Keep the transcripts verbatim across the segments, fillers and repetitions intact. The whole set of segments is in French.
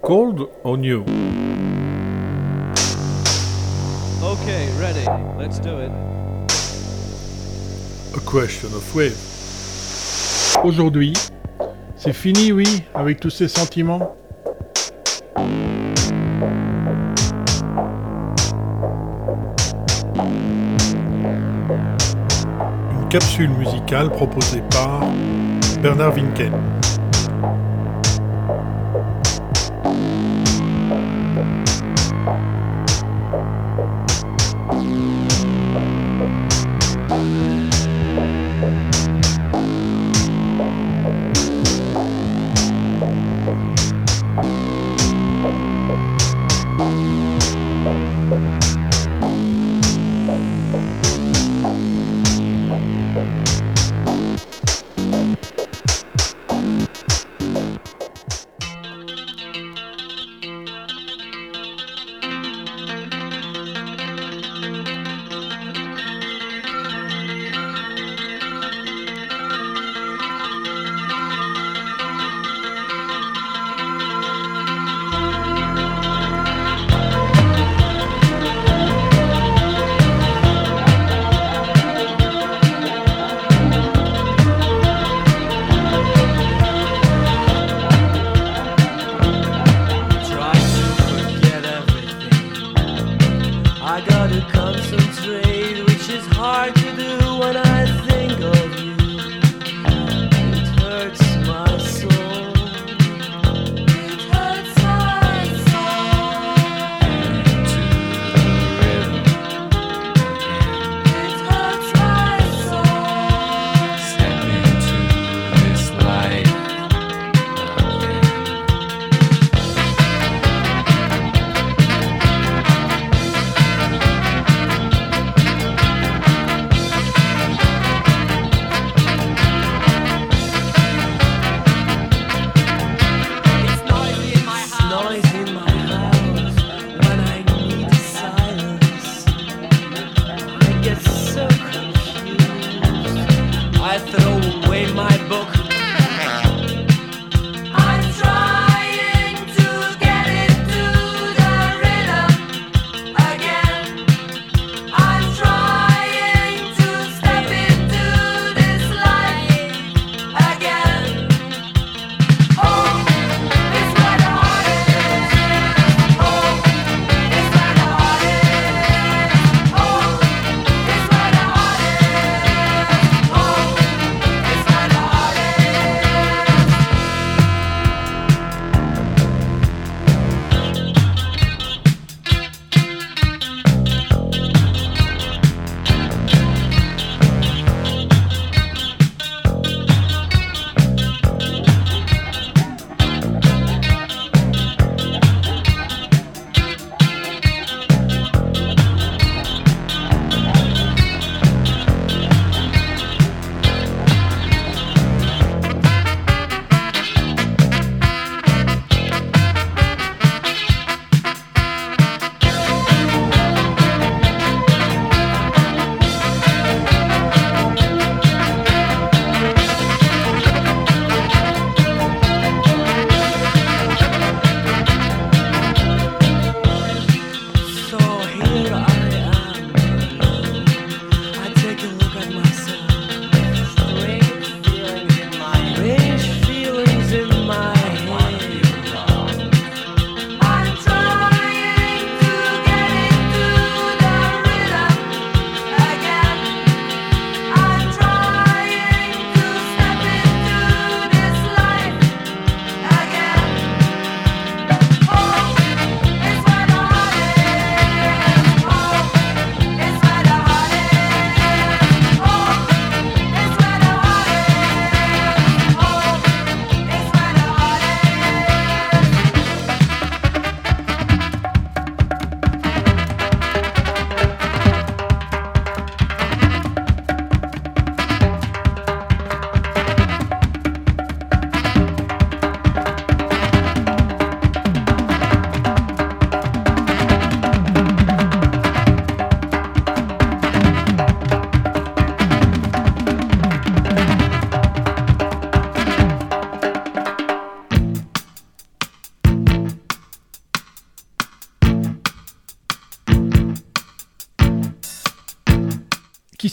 Cold or new? Okay, ready. Let's do it. A question of wave. Aujourd'hui, c'est fini, oui, avec tous ces sentiments. Une capsule musicale proposée par Bernard Winken.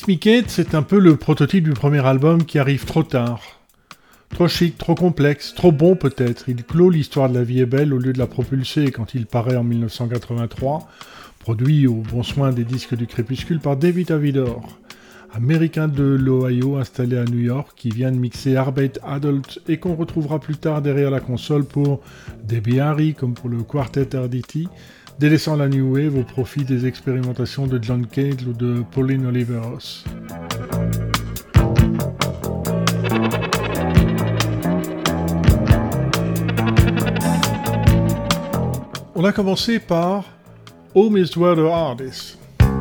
Kiss Me Kate, c'est un peu le prototype du premier album qui arrive trop tard. Trop chic, trop complexe, trop bon peut-être. Il clôt l'histoire de La Vie est belle au lieu de la propulser quand il paraît en dix-neuf cent quatre-vingt-trois, produit au bon soin des disques du crépuscule par David Avidor, américain de l'Ohio installé à New York, qui vient de mixer Arbeit Adult et qu'on retrouvera plus tard derrière la console pour Debbie Harry comme pour le Quartet R D T, délaissant la New Wave au profit des expérimentations de John Cale ou de Pauline Oliveros. On a commencé par Home is Where the Heart Is.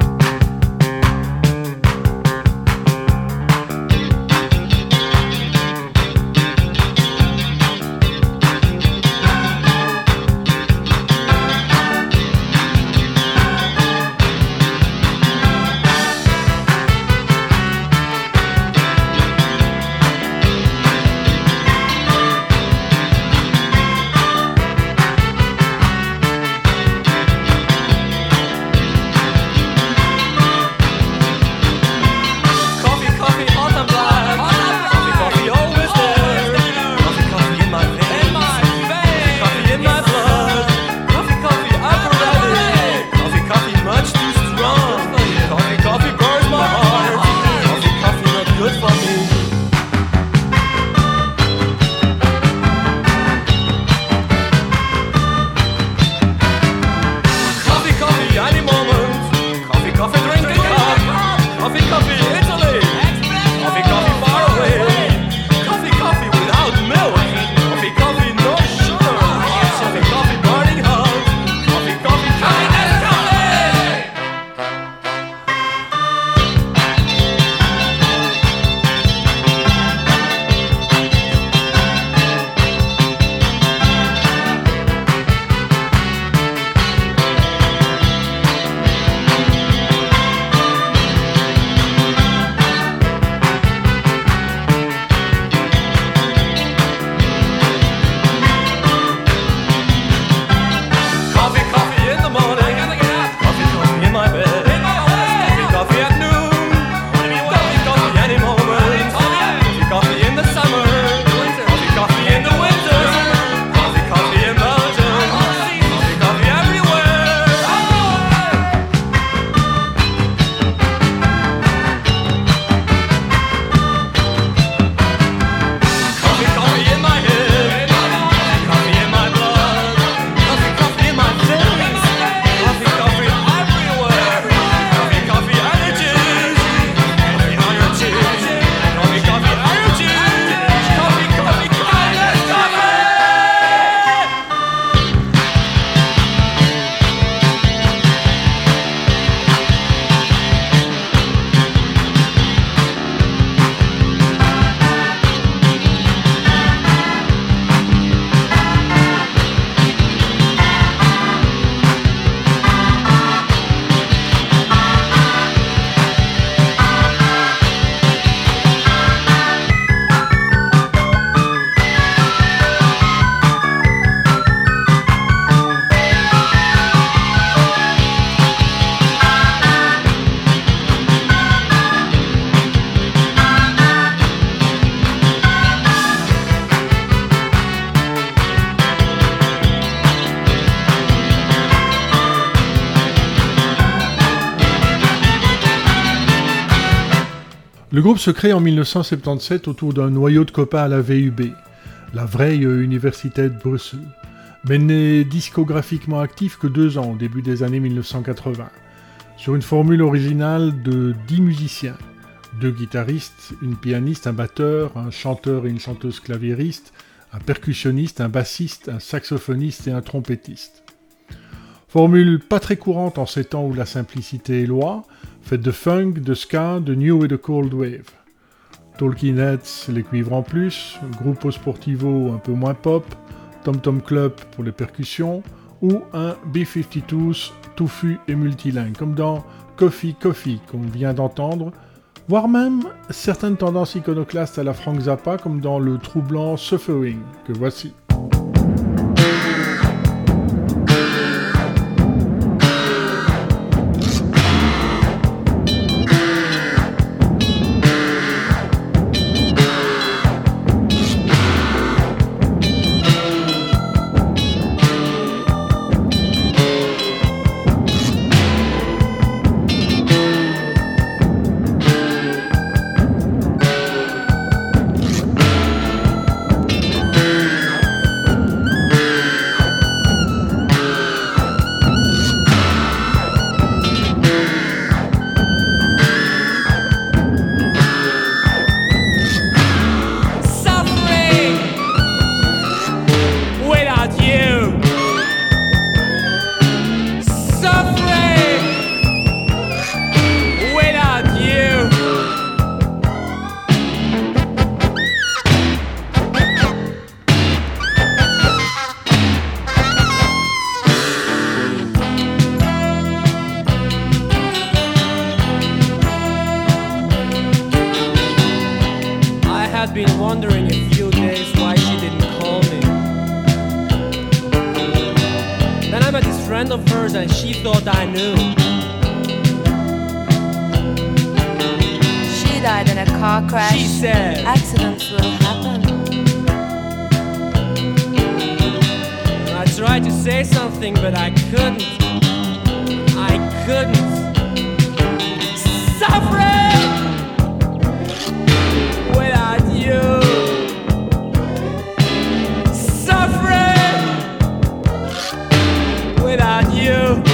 Le groupe se crée en dix-neuf cent soixante-dix-sept autour d'un noyau de copains à la V U B, la Vrije Universiteit Bruxelles, mais n'est discographiquement actif que deux ans au début des années dix-neuf cent quatre-vingts, sur une formule originale de dix musiciens, deux guitaristes, une pianiste, un batteur, un chanteur et une chanteuse claviériste, un percussionniste, un bassiste, un saxophoniste et un trompettiste. Formule pas très courante en ces temps où la simplicité est loi, faite de funk, de ska, de new et de cold wave. Talking Heads, les cuivres en plus, Gruppo Sportivo un peu moins pop, Tom Tom Club pour les percussions, ou un B cinquante-deux touffu et multilingue, comme dans Coffee Coffee qu'on vient d'entendre, voire même certaines tendances iconoclastes à la Frank Zappa, comme dans le troublant Suffering, que voici. friend of hers and she thought I knew. She died in a car crash. She said, accidents will happen. I tried to say something, but I couldn't. I couldn't. Suffering without you. Suffering without you.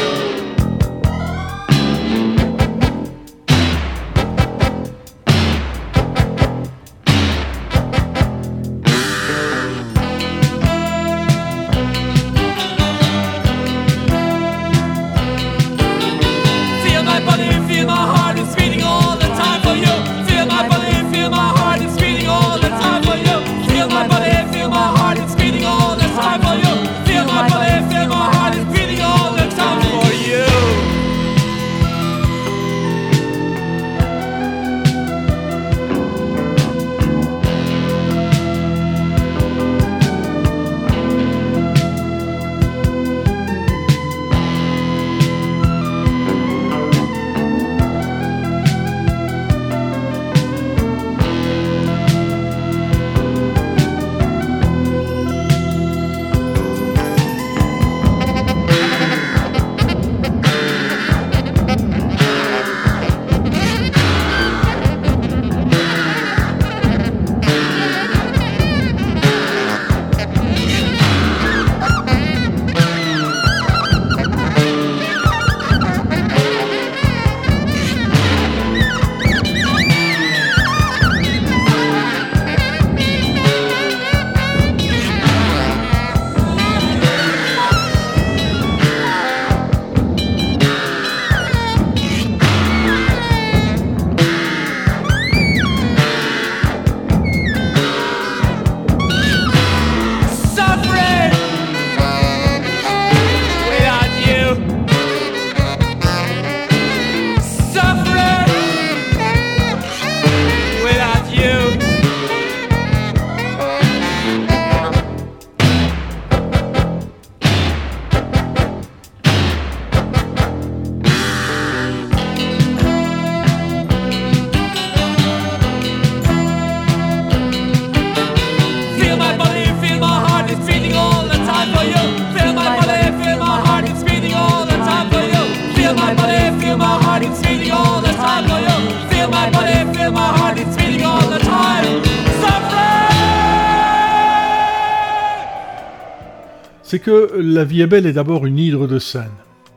C'est que La vie est belle est d'abord une hydre de scène.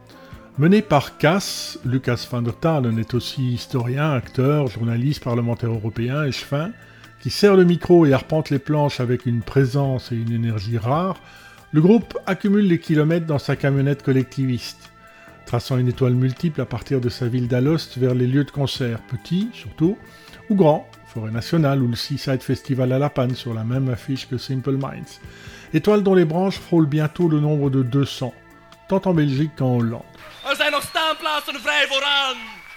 Mené par Cass, Lucas van der Talen est aussi historien, acteur, journaliste, parlementaire européen, échevin, qui serre le micro et arpente les planches avec une présence et une énergie rares. Le groupe accumule les kilomètres dans sa camionnette collectiviste, traçant une étoile multiple à partir de sa ville d'Alost vers les lieux de concert, petits surtout, ou grands, Forêt Nationale ou le Seaside Festival à La Panne sur la même affiche que Simple Minds. Étoile dont les branches frôlent bientôt le nombre de deux cents, tant en Belgique qu'en Hollande. Er zijn nog staanplaatsen vrij vooraan.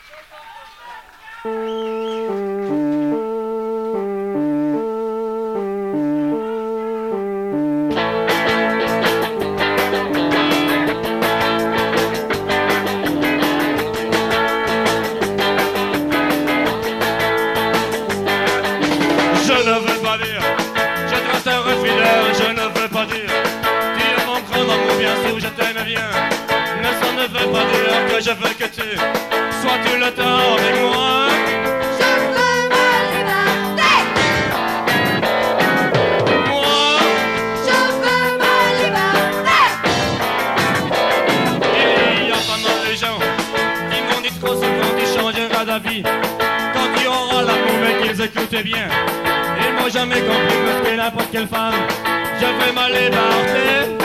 Je veux que tu sois tout le temps avec moi. Je veux ma liberté. Moi, Je veux ma liberté. il y a pas mal de gens qui m'ont dit trop souvent tu changeras d'avis quand tu auras l'amour mais qu'ils écoutent bien. Ils m'ont jamais compris parce que n'importe quelle femme, je veux ma liberté.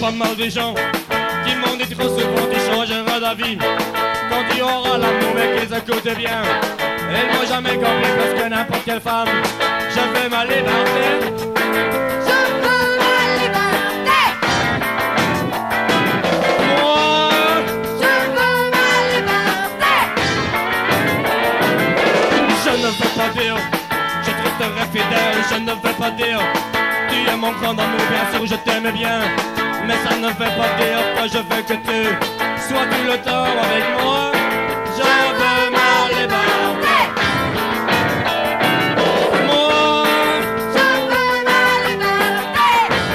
pas mal de gens qui m'ont dit trop souvent tu changeras d'avis quand tu auras l'amour mais qu'ils écoutent bien. Ils m'ont jamais compris parce que n'importe quelle femme, je veux ma liberté. Je veux ma liberté. Moi, Je veux ma liberté. je ne veux pas dire, je te resterai fidèle. Je ne veux pas dire, tu es mon grand amour, bien sûr je t'aime bien. Mais ça ne veut pas dire que je veux que tu sois tout le temps avec moi. Je veux ma liberté. Moi, Je veux ma liberté.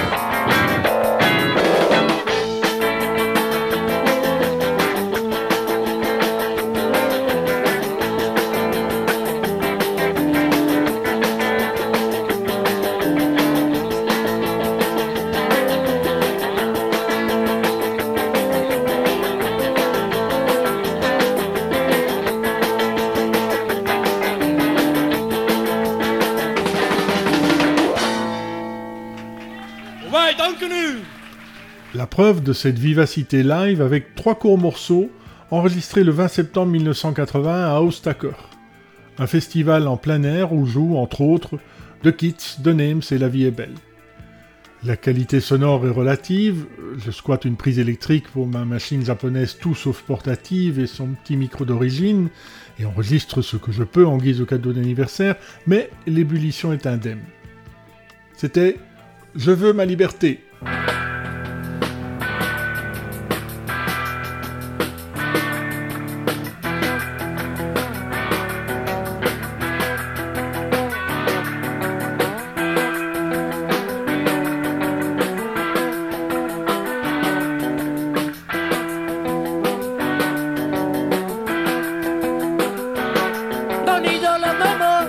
ouais, danke nu. La preuve de cette vivacité live avec trois courts morceaux enregistrés le vingt septembre mille neuf cent quatre-vingts à Austaker, un festival en plein air où jouent entre autres The Kids, The Names et La Vie est belle. La qualité sonore est relative, je squatte une prise électrique pour ma machine japonaise tout sauf portative et son petit micro d'origine, et enregistre ce que je peux en guise de cadeau d'anniversaire, mais l'ébullition est indemne. C'était « Je veux ma liberté ». Don't need all of no more.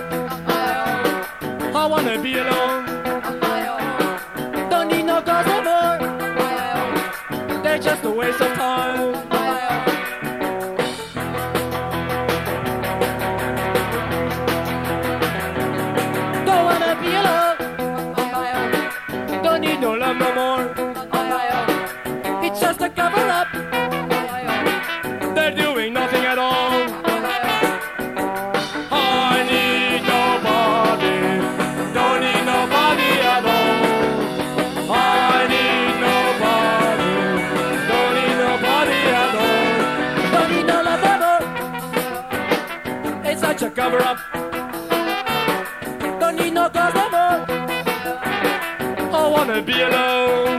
I wanna be alone. Don't need no girls no more. They're just a waste of time. Don't wanna be alone. Don't need no love no more. It's just a cover up. They're doing nothing at all. I need nobody, don't need nobody at all. I need nobody, don't need nobody at all. Don't need no love no more. It's such a cover up. Don't need no girls no more. I wanna be alone.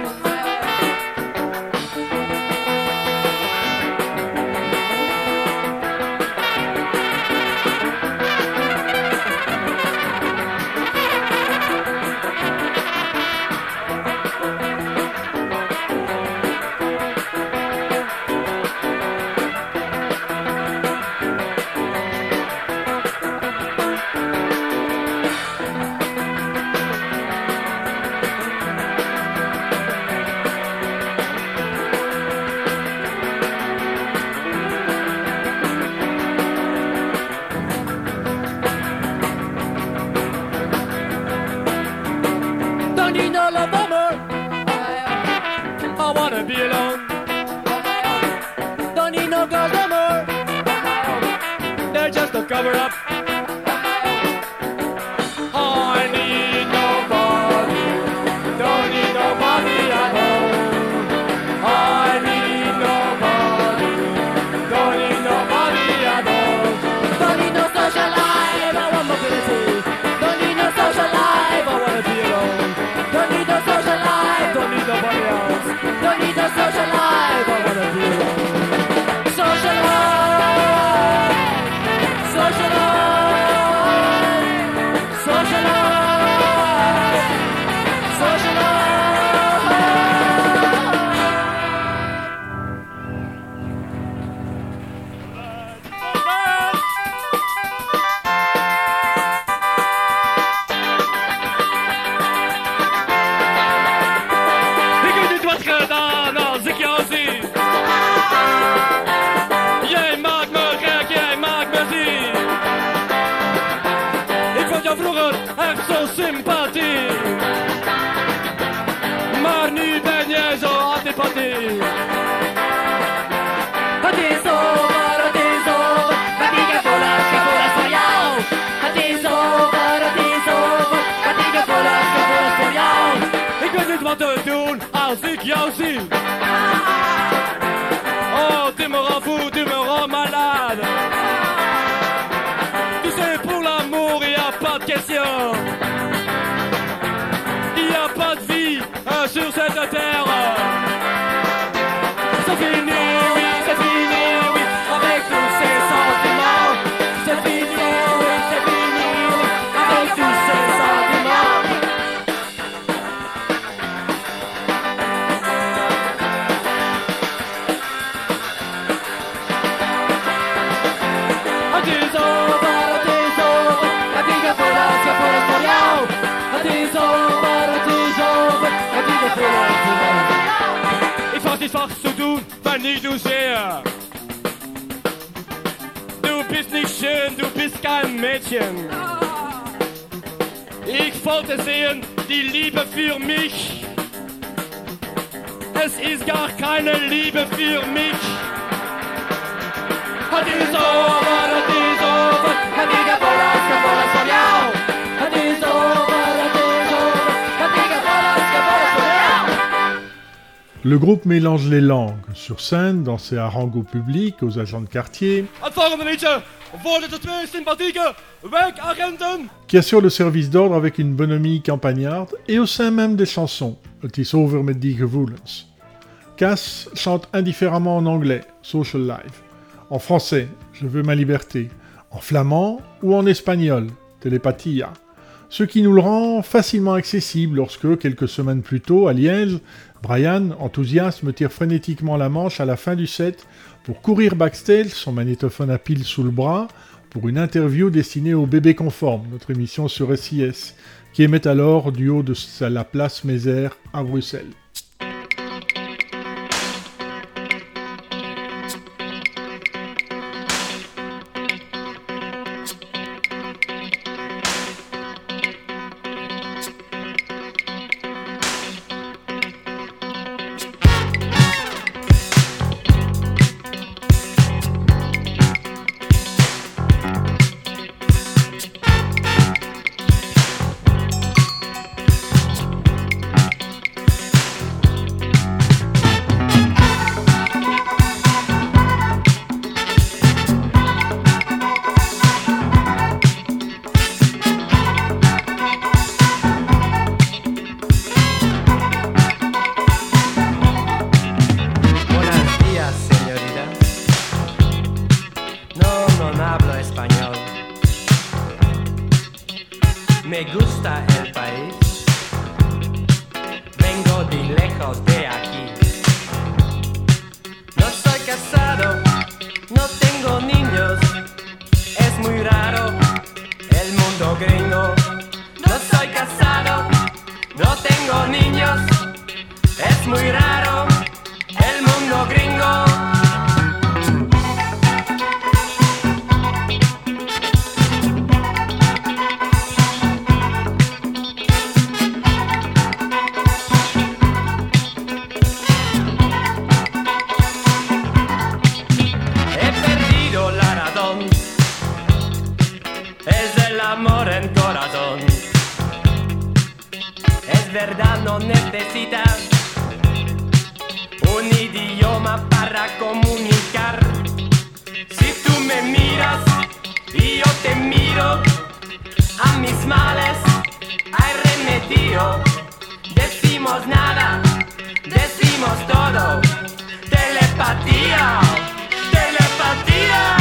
Don't need no love no more. I wanna be alone. Don't need no girls no more. They're just a cover up. I need nobody. Don't need nobody at all. I need nobody. Don't need nobody at all. Don't need no social life. I want mobility. Don't need no social life. I wanna be alone. Don't need no social life. Don't need nobody else. Don't need no social life. I wanna be alone. Social life. Social life. Social life. Social life. Écoute, toi, très dans, dans, c'est qui aussi. Jij maakt me gek, jij maakt me ziek. Ik vond jou vroeger echt zo sympathiek. Maar nu ben jij zo antipathiek. Il y a aussi. Oh, tu me rends fou, tu me rends malade. Tu sais, pour l'amour, il n'y a pas de question. Il n'y a pas de vie hein, sur cette terre. C'est fini, oui, c'est fini, oui, avec tous ces sentiments. C'est fini, oui, c'est fini, oui, avec tous ces sentiments. Het is over, het is over, het is er voor ons, ja, voor ons, voor jou. Het is over, het is over, het is er voor ons, voor ons. Ik was niet vast zo doen, maar niet zozeer. Du bist nicht schön, du bist kein Mädchen. Ich wollte sehen, die Liebe für mich. Es ist gar keine Liebe für mich. Het is over, het is over, het is er voor ons, ja, voor ons, voor jou. Het is over, het is over, het is er voor ons, ja, voor ons, voor jou. Le groupe mélange les langues, sur scène, dans ses harangues au public, aux agents de quartier, Het volgende liedje worden de twee sympathieke wijkagenten. qui assure le service d'ordre avec une bonhomie campagnarde, et au sein même des chansons, Het is over met die gevoelens. Cass chante indifféremment en anglais, Social Life, en français, Je veux ma liberté, en flamand ou en espagnol, Telepatia, ce qui nous le rend facilement accessible lorsque, quelques semaines plus tôt, à Liège, Brian, enthousiaste, me tire frénétiquement la manche à la fin du set pour courir backstage, son magnétophone à pile sous le bras, pour une interview destinée au Bébé Conforme, notre émission sur S I S, qui émet alors du haut de la place Mézère à Bruxelles. Buenos días, señorita. No, no hablo español. Me gusta el país. Vengo de lejos de aquí. No soy casado, no tengo niños. Es muy raro el mundo gringo. No soy casado, no tengo niños. Es muy raro el mundo gringo. He perdido la razón. Es el amor en corazón. Es verdad, no necesitas un idioma para comunicar. Si tú me miras y yo te miro, a mis males hay remedio. Decimos nada, decimos todo. Telepatía, telepatía.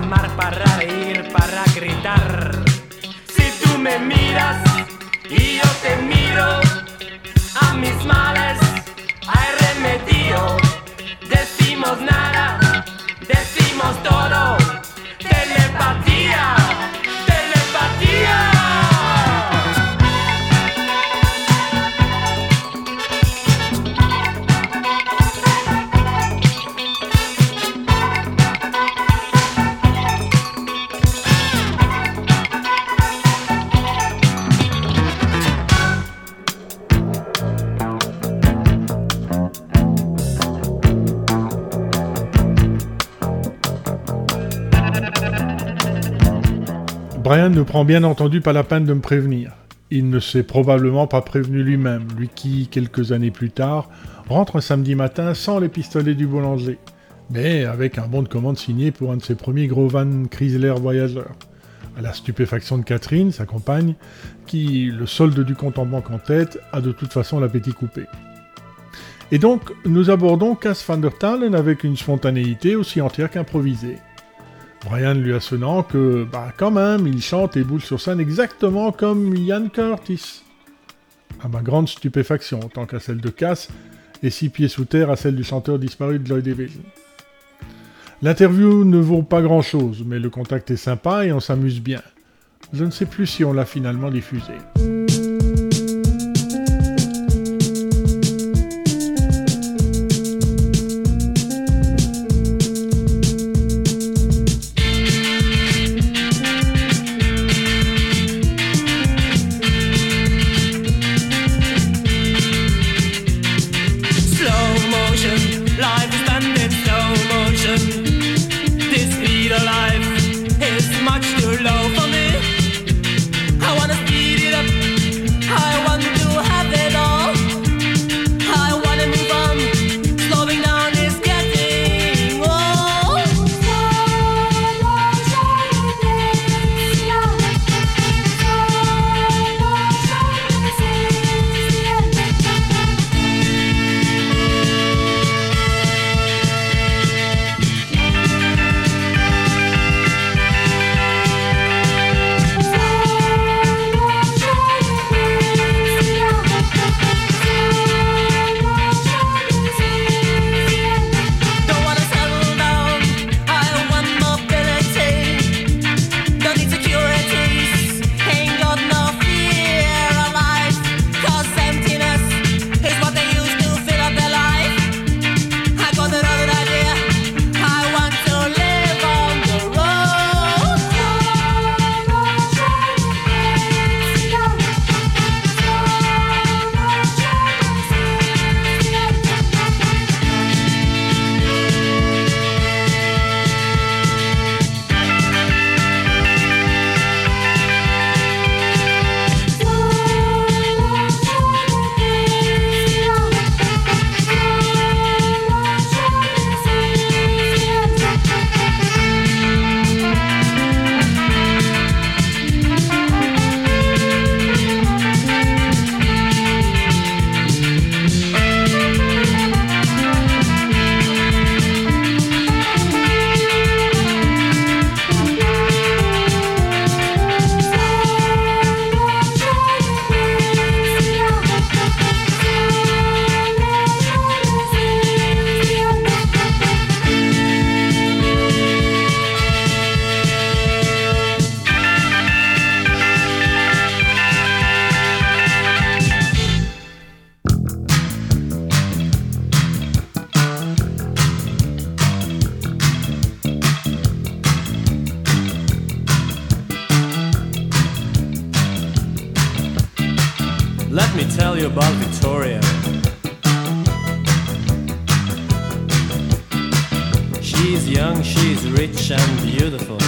amar, para reír, para gritar. Si tú me miras y yo te miro, a mis males hay remedio. Decimos nada, decimos todo. Telepatía, telepatía. Brian ne prend bien entendu pas la peine de me prévenir. Il ne s'est probablement pas prévenu lui-même, lui qui, quelques années plus tard, rentre un samedi matin sans les pistolets du boulanger, mais avec un bon de commande signé pour un de ses premiers gros vans Chrysler Voyager. À la stupéfaction de Catherine, sa compagne, qui, le solde du compte en banque en tête, a de toute façon l'appétit coupé. Et donc, nous abordons Cas van der Talen avec une spontanéité aussi entière qu'improvisée. Brian lui assonnant que, bah quand même, il chante et boule sur scène exactement comme Ian Curtis. À ma grande stupéfaction, tant qu'à celle de Cass, et six pieds sous terre à celle du chanteur disparu de Joy Division. L'interview ne vaut pas grand-chose, mais le contact est sympa et on s'amuse bien. Je ne sais plus si on l'a finalement diffusé. Let me tell you about Victoria. She's young, she's rich and beautiful.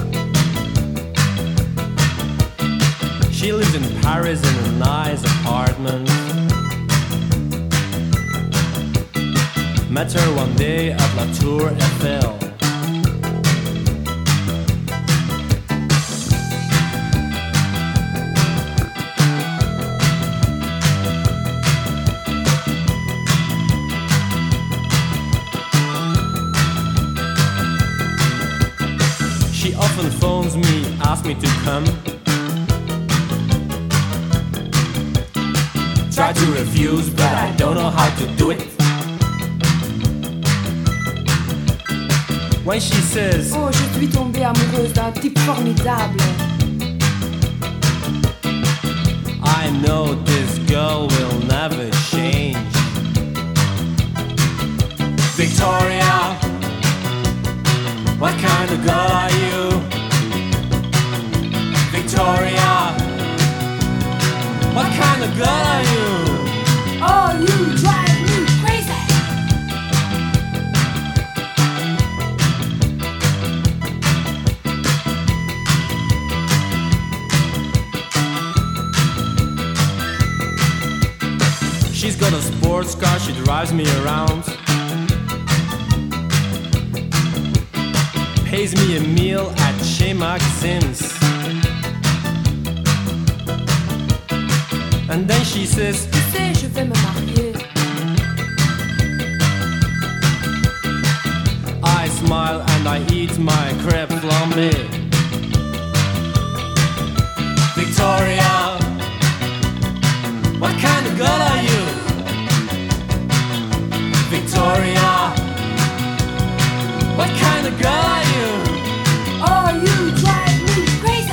She lives in Paris in a nice apartment. Met her one day at La Tour Eiffel. She often phones me, asks me to come. Try to refuse, but I don't know how to do it. When she says, Oh, je suis tombée amoureuse d'un type formidable. I know this girl will never change. Victoria, what kind of girl are you? Victoria, what kind of girl are you? Oh, you drive me crazy. She's got a sports car, she drives me around. Pays me a meal at Chez Maxim's. And then she says, Tu sais, je vais me marier. I smile and I eat my crêpe flambée. Victoria, what kind of girl are you? Victoria, what kind of girl are you? Oh, you drive me crazy.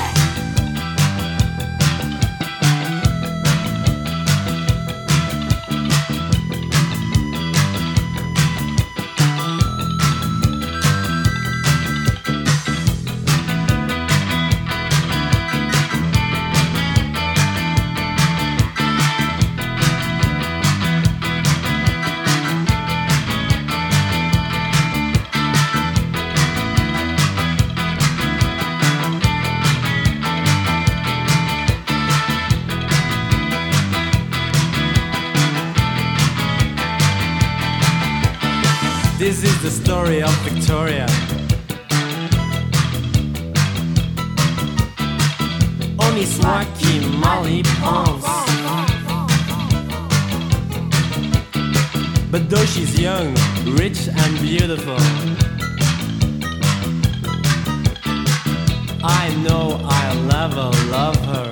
This is the story of Victoria. On y soit qui mal y pense. But though she's young, rich and beautiful, I know I'll never love her.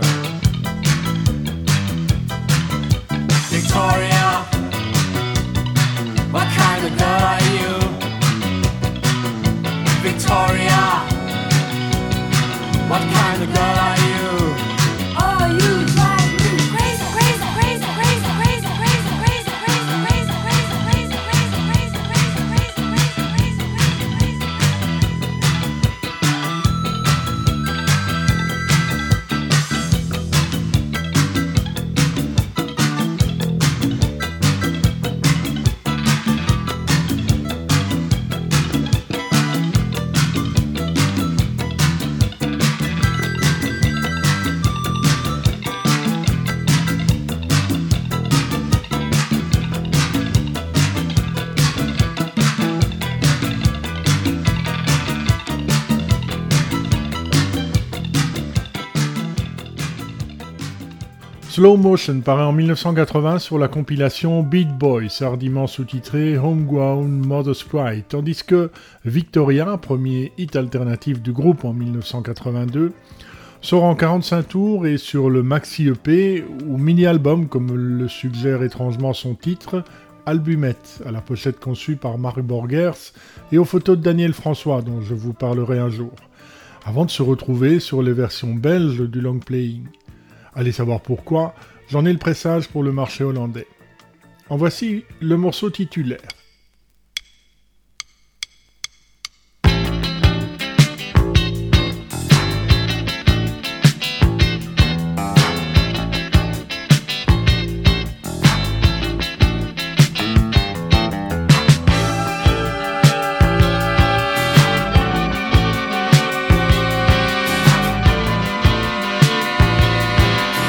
Victoria, what kind of girl are you? Victoria, what kind of girl are you? Oh, you drive me crazy, crazy, crazy, crazy, crazy, crazy, crazy, crazy, crazy, crazy, crazy, crazy, crazy, crazy, crazy, Slow Motion paraît en mille neuf cent quatre-vingts sur la compilation Beat Boys, hardiment sous-titré Homegrown Mother's Pride, tandis que Victoria, premier hit alternatif du groupe en mille neuf cent quatre-vingt-deux, sort en quarante-cinq tours et sur le maxi E P, ou mini-album comme le suggère étrangement son titre, Albumette, à la pochette conçue par Mark Borgers et aux photos de Daniel François, dont je vous parlerai un jour, avant de se retrouver sur les versions belges du long playing. Allez savoir pourquoi, j'en ai le pressage pour le marché hollandais. En voici le morceau titulaire.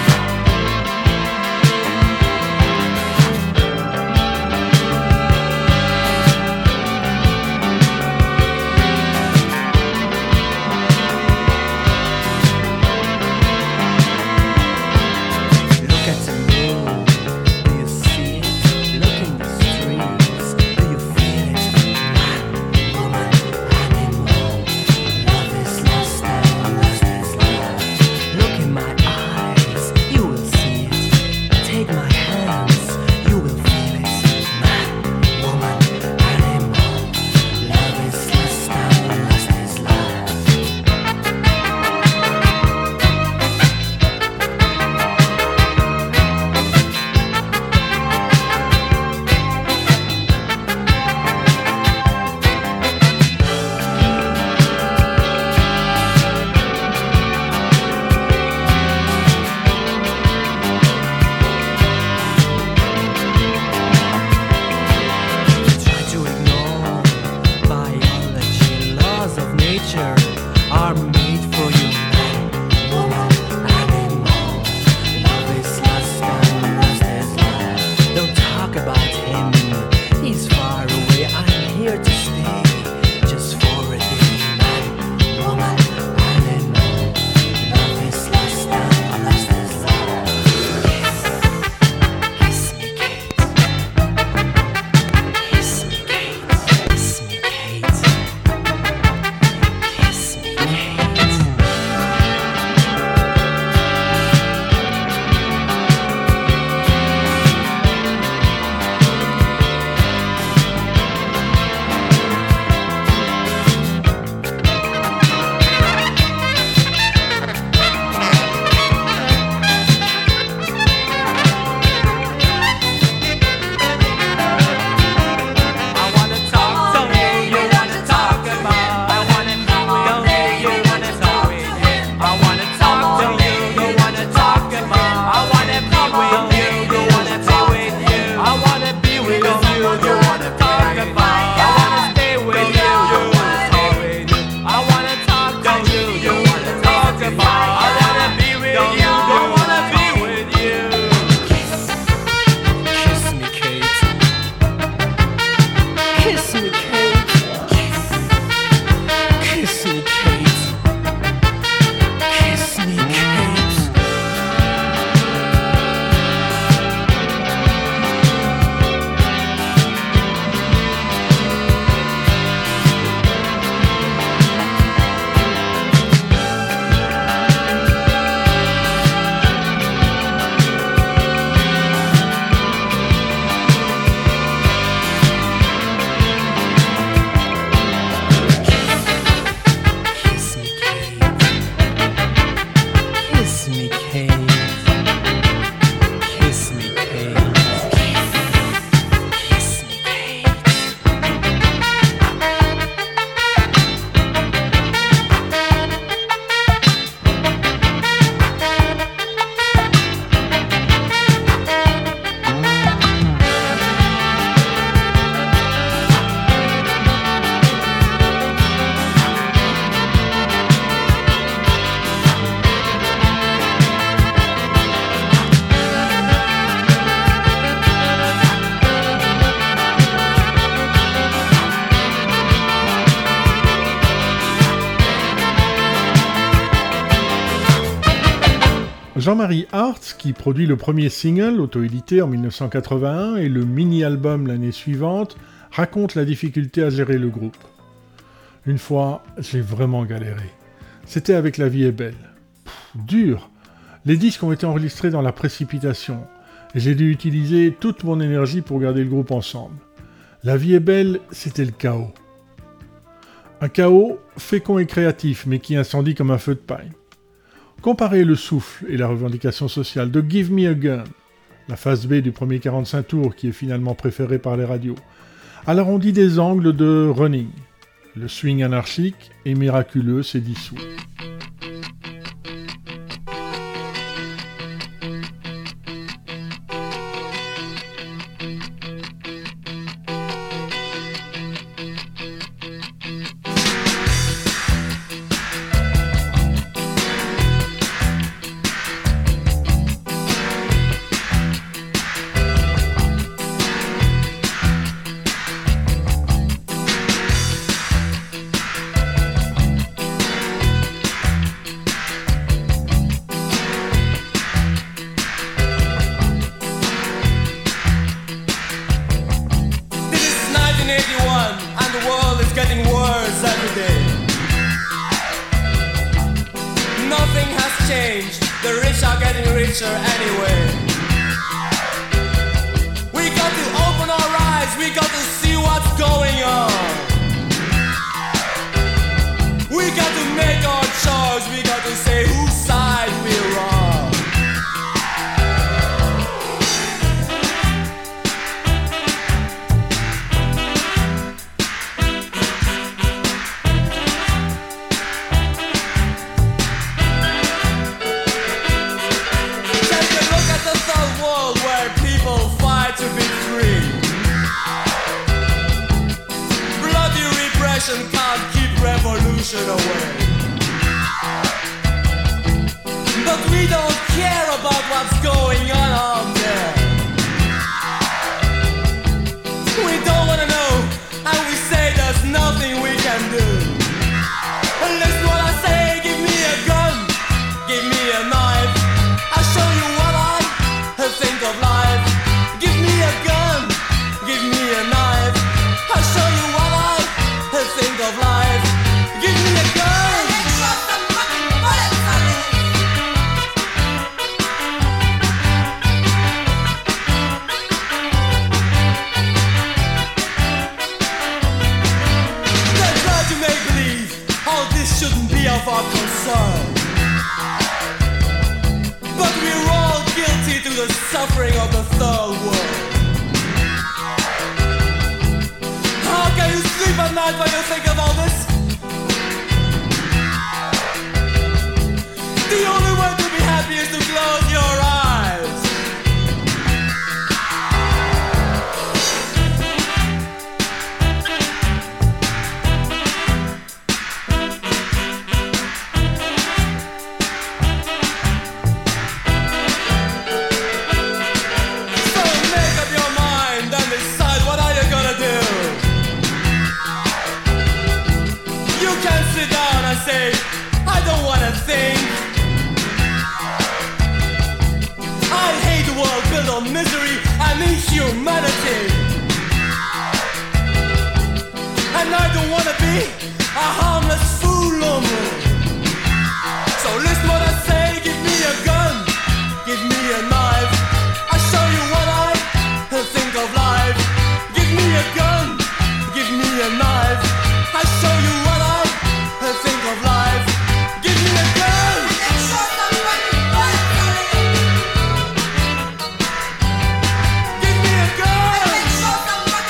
Victoria, Jean-Marie Hartz, qui produit le premier single, auto-édité en mille neuf cent quatre-vingt-un, et le mini-album l'année suivante, raconte la difficulté à gérer le groupe. Une fois, j'ai vraiment galéré. C'était avec La vie est belle. Pff, dur. Les disques ont été enregistrés dans la précipitation, et j'ai dû utiliser toute mon énergie pour garder le groupe ensemble. La vie est belle, c'était le chaos. Un chaos fécond et créatif, mais qui incendie comme un feu de paille. Comparez le souffle et la revendication sociale de Give Me a Gun, la phase B du premier quarante-cinq tours qui est finalement préférée par les radios, à l'arrondi des angles de Running. Le swing anarchique et miraculeux s'est dissous.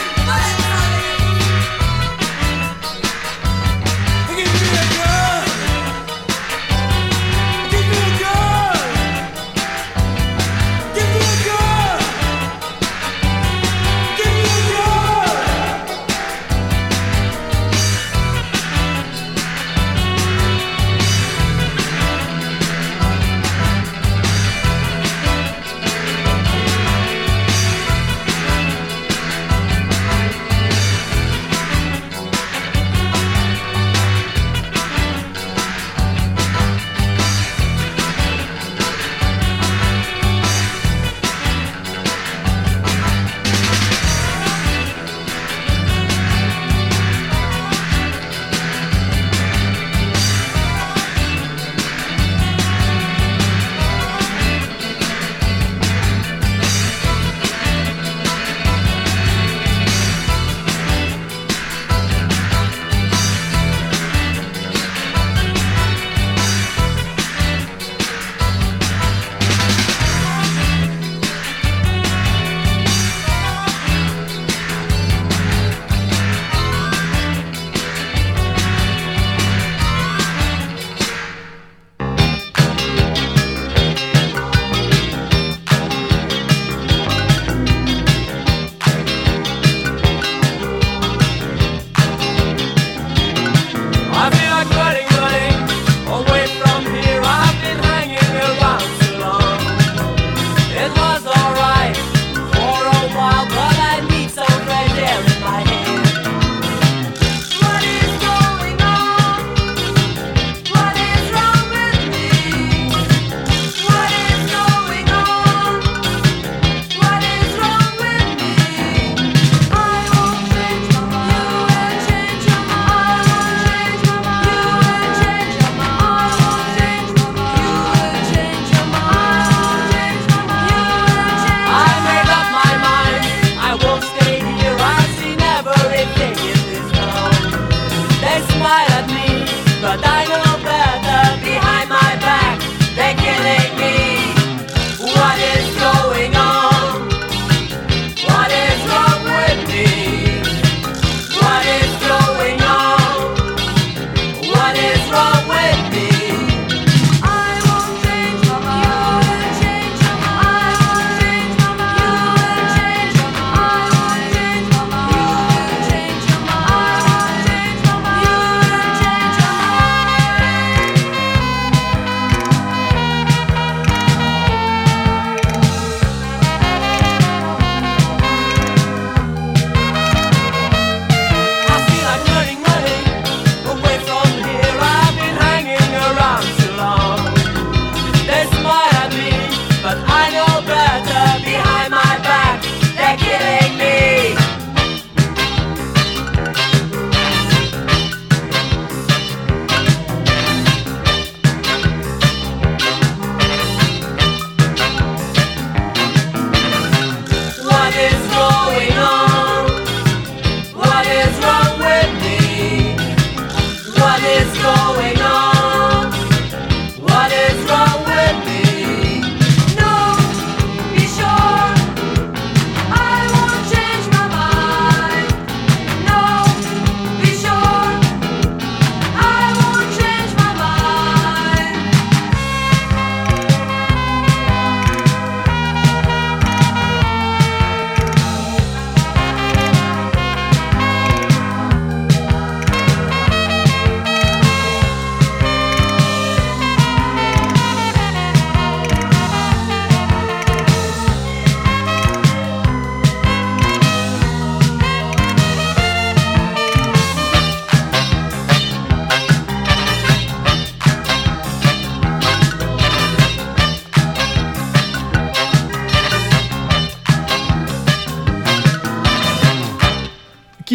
Give me a gun.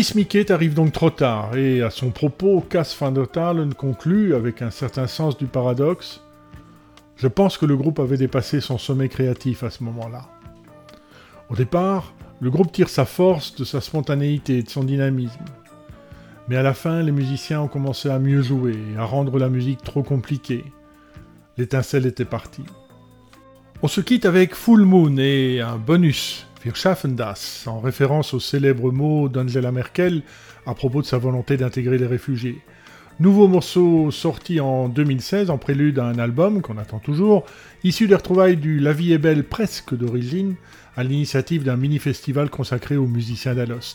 Kiss Me Kate arrive donc trop tard, et à son propos, Cass van der Talen conclut, avec un certain sens du paradoxe, « Je pense que le groupe avait dépassé son sommet créatif à ce moment-là. » Au départ, le groupe tire sa force de sa spontanéité et de son dynamisme. Mais à la fin, les musiciens ont commencé à mieux jouer, à rendre la musique trop compliquée. L'étincelle était partie. On se quitte avec Full Moon et un bonus, Wir schaffen das, en référence au célèbre mot d'Angela Merkel à propos de sa volonté d'intégrer les réfugiés. Nouveau morceau sorti en deux mille seize en prélude à un album qu'on attend toujours, issu des retrouvailles du La vie est belle presque d'origine, à l'initiative d'un mini-festival consacré aux musiciens d'Alost.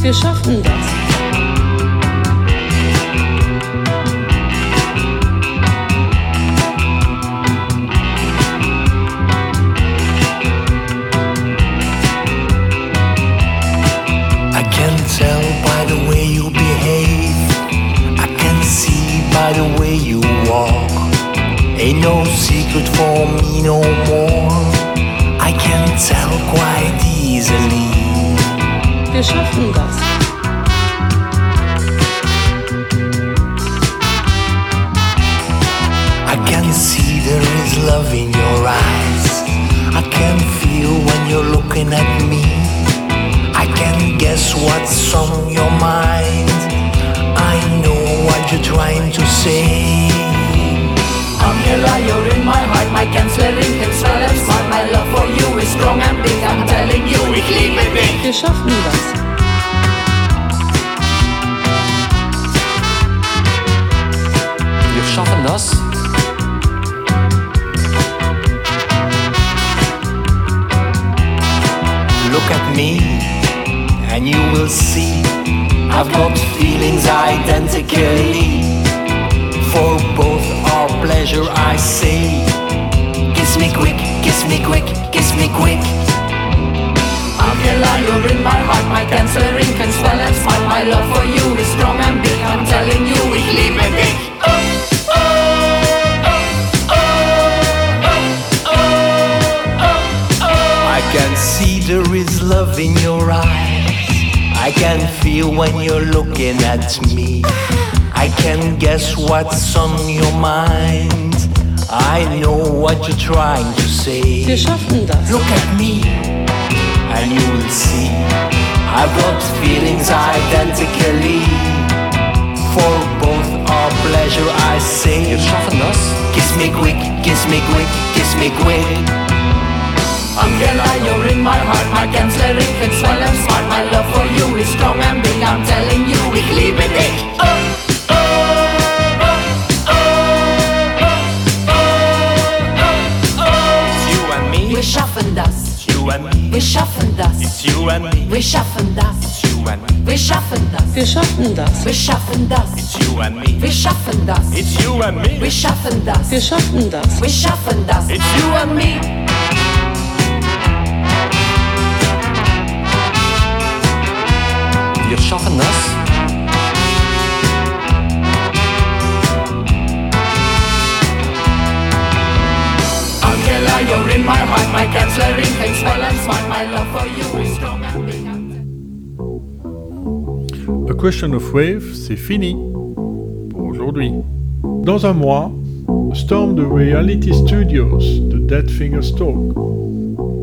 Wir schaffen das. I can tell by the way you behave. I can see by the way you walk. Ain't no secret for me no more. I can tell quite easily. Wir schaffen das. I can see there is love in your eyes. I can feel when you're looking at me. I can guess what's on your mind. I know what you're trying to say. Angela, you're in my heart, my Kanzlerin can swell and smart. My love for you is strong and big, I'm telling you, ich liebe dich. Wir schaffen das. Wir schaffen das. Look at me and you will see I've got feelings identically. For both our pleasure I say, kiss me quick, kiss me quick, kiss me quick. Angela, you're in my heart, my Kanzlerin can swell and smart. My love for you is strong and big, I'm telling you, ich liebe dich. I can see there is love in your eyes. I can feel when you're looking at me. I can guess what's on your mind. I know what you're trying to say. Wir schaffen das. Look at me and you will see I've got feelings identically. For both our pleasure I say, Wir schaffen das. kiss me quick, kiss me quick, kiss me quick. Angela, you're in my heart, my Kanzlerin can swell and smart. My love for you is strong and big, I'm telling you, ich liebe dich. Wir schaffen das. Wir schaffen das. Wir schaffen das. Wir schaffen das. Wir schaffen das. Wir schaffen das. Wir schaffen das. It's you and me. Wir schaffen das. Wir schaffen das. Wir schaffen das. It's you and me. Wir schaffen das. Angela, you're in my heart, my Kanzlerin can swell and smart. My love for you is strong and big. A Question of Wave, c'est fini pour aujourd'hui. Dans un mois, Storm de Reality Studios, The Dead Fingers Talk.